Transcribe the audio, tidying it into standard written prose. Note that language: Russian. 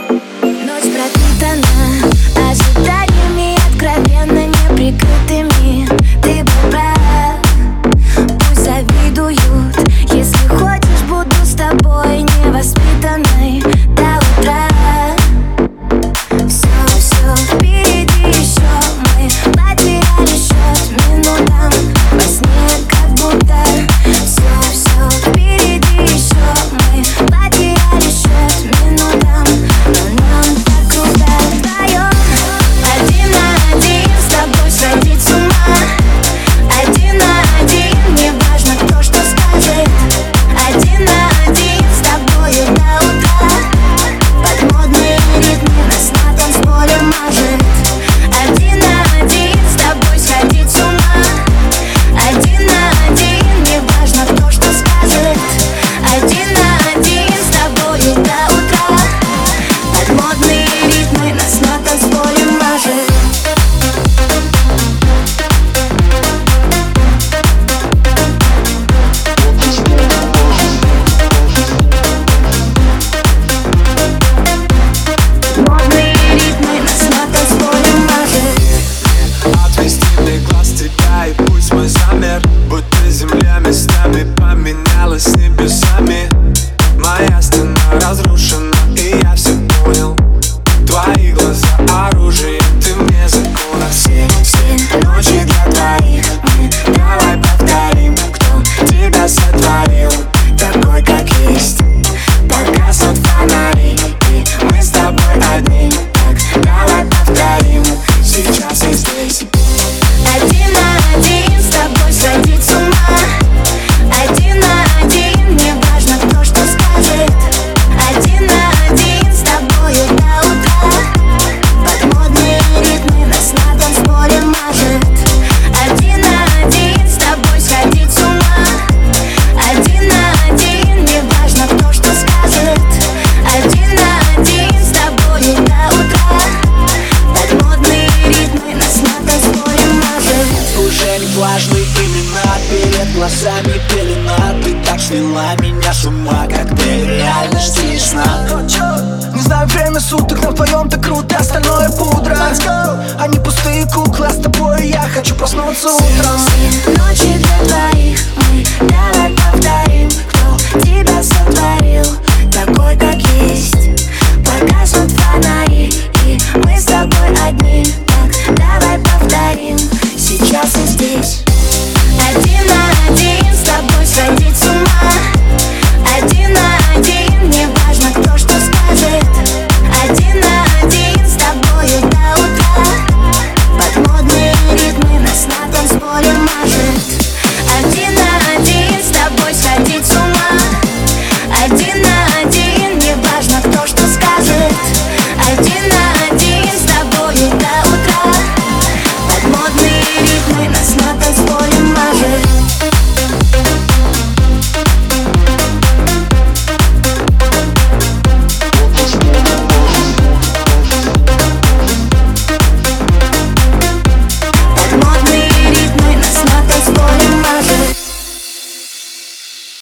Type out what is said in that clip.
Ночь пропитана ожиданиями, откровенно неприкрытыми. Ты был прав, пусть завидуют. Если хочешь, буду с тобой невоспитанной до утра. Все впереди еще, мы потеряли счет минутам во сне, как будто. Все впереди еще, мы потеряли счет минутам, но нам так круто вдвоем. Один на один с тобой сходить с ума. Один на один, не важно, кто что скажет. Один на один с тобою до утра. Под модные ритмы нас на танцполе мажет. Один на один с тобой сходить с ума. Один на один, не важно, кто что скажет. Один на один с тобою до утра. Под модные ритмы нас на танцполе мажет. Модные ритмы нас на танцполе мажет. Отвести мне глаз тебя, и пусть мой замер, будто земля местами поменялась с небесами. Моя стена разрушена, и я все понял. Твои глаза оружие, ты мне закона. Все ночи для двоих мы давай повторим, кто тебя сотворил такой, как есть. Погасят фонари, и мы с тобой одни. Так давай повторим сейчас и здесь. Один на один с тобой сходить с ума. Один на один, не важно, кто что скажет. Один на один с тобою до утра. Под модные ритмы нас на танцполе мажет. Один на один с тобой сходить с ума. Один на один, не важно, кто что скажет. Один на один с тобою до утра. Под модные ритмы нас на танцполе мажет. Уже не важны имена, перед глазами пелена. Ты так свела меня с ума, коктейль реальности и сна. Не знаю время суток, но вдвоем так круто, остальное пудра. А не пустые куклы, а с тобой я хочу проснуться утром.